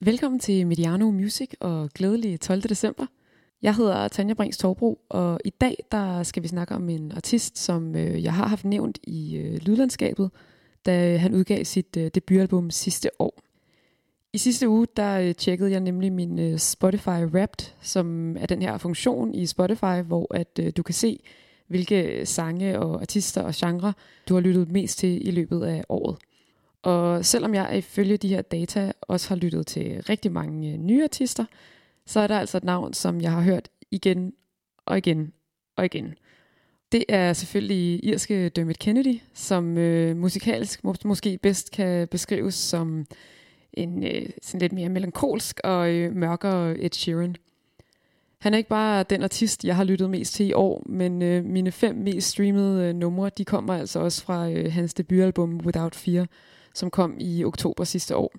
Velkommen til Mediano Music og glædelig 12. december. Jeg hedder Tanja Brings Torbro, og i dag der skal vi snakke om en artist, som jeg har haft nævnt i lydlandskabet, da han udgav sit debutalbum sidste år. I sidste uge der tjekkede jeg nemlig min Spotify Wrapped, som er den her funktion i Spotify, hvor at du kan se, hvilke sange og artister og genre du har lyttet mest til i løbet af året. Og selvom jeg ifølge de her data også har lyttet til rigtig mange nye artister, så er der altså et navn, som jeg har hørt igen og igen og igen. Det er selvfølgelig irske Dermot Kennedy, som musikalsk måske bedst kan beskrives som en sådan lidt mere melankolsk og mørkere Ed Sheeran. Han er ikke bare den artist, jeg har lyttet mest til i år, men mine 5 mest streamede numre, de kommer altså også fra hans debutalbum Without Fear, som kom i oktober sidste år.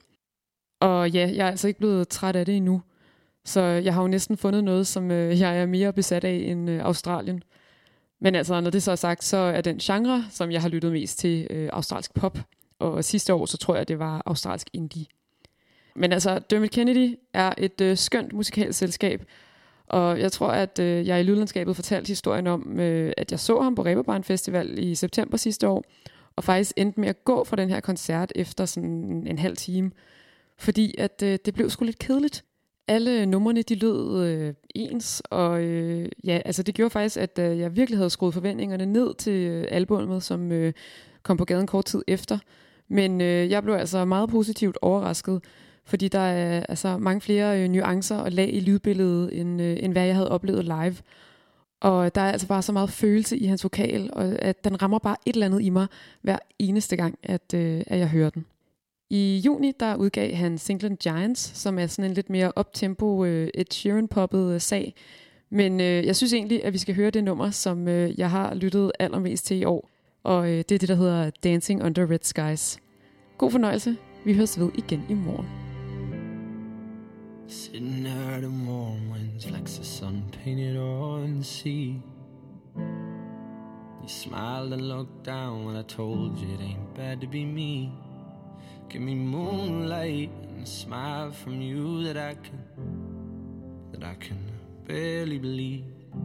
Og ja, jeg er altså ikke blevet træt af det endnu, så jeg har jo næsten fundet noget, som jeg er mere besat af end Australien. Men altså, når det så er sagt, så er den genre, som jeg har lyttet mest til, australsk pop, og sidste år, så tror jeg, det var australsk indie. Men altså, Dermot Kennedy er et skønt musikalsk selskab, og jeg tror, at jeg i lydlandskabet fortalte historien om, at jeg så ham på Reeperbahn Festival i september sidste år, og faktisk endte med at gå fra den her koncert efter sådan en halv time, fordi at det blev sgu lidt kedeligt. Alle numrene, de lød ens, og ja, altså det gjorde faktisk, at jeg virkelig havde skruet forventningerne ned til albummet, som kom på gaden kort tid efter. Men jeg blev altså meget positivt overrasket, fordi der er altså mange flere nuancer og lag i lydbilledet, end hvad jeg havde oplevet live. Og der er altså bare så meget følelse i hans vokal, og at den rammer bare et eller andet i mig hver eneste gang, at jeg hører den. I juni der udgav han singlen Giants, som er sådan en lidt mere uptempo Ed Sheeran-poppet sag. Men jeg synes egentlig, at vi skal høre det nummer, som jeg har lyttet allermest til i år. Og det er det, der hedder Dancing Under Red Skies. God fornøjelse. Vi høres ved igen i morgen. Sitting there at the warm winds, flecks the sun painted on the sea. You smiled and looked down when I told you it ain't bad to be me. Give me moonlight and a smile from you that I can barely believe.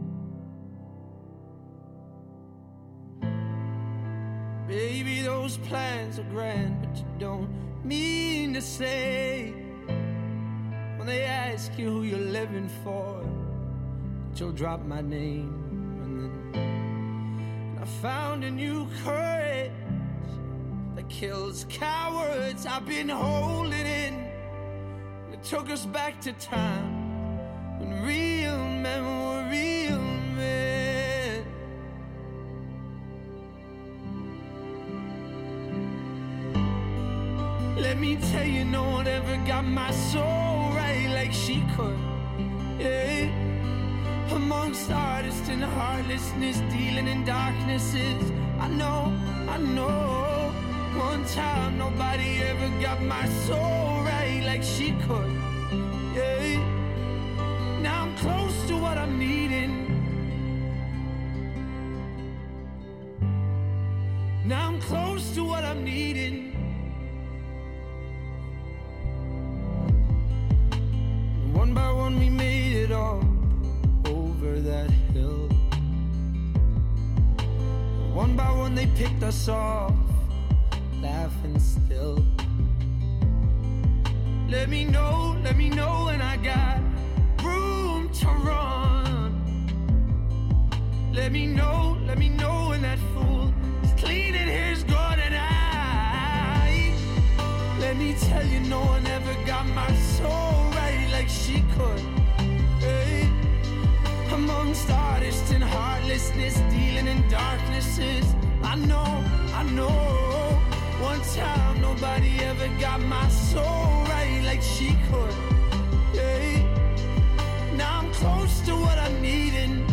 Baby, those plans are grand, but you don't mean to say when they ask you who you're living for, that you'll drop my name. And then I found a new courage that kills cowards I've been holding in. And it took us back to time when real men were real men. Let me tell you, no one ever got my soul right like she could. Yeah. Amongst artists and heartlessness, dealing in darknesses, I know. One time nobody ever got my soul right like she could. Yeah. Now I'm close to what I'm needing. Now I'm close to what I'm needing. One by one we made it all over that hill. One by one they picked us off, laughing still. Let me know when I got room to run. Let me know when that fool is cleaning his gun and let me tell you, no one ever got my soul right like she could. Hey. Amongst artists and heartlessness, dealing in darknesses, I know. One time nobody ever got my soul right like she could. Hey. Now I'm close to what I'm needing.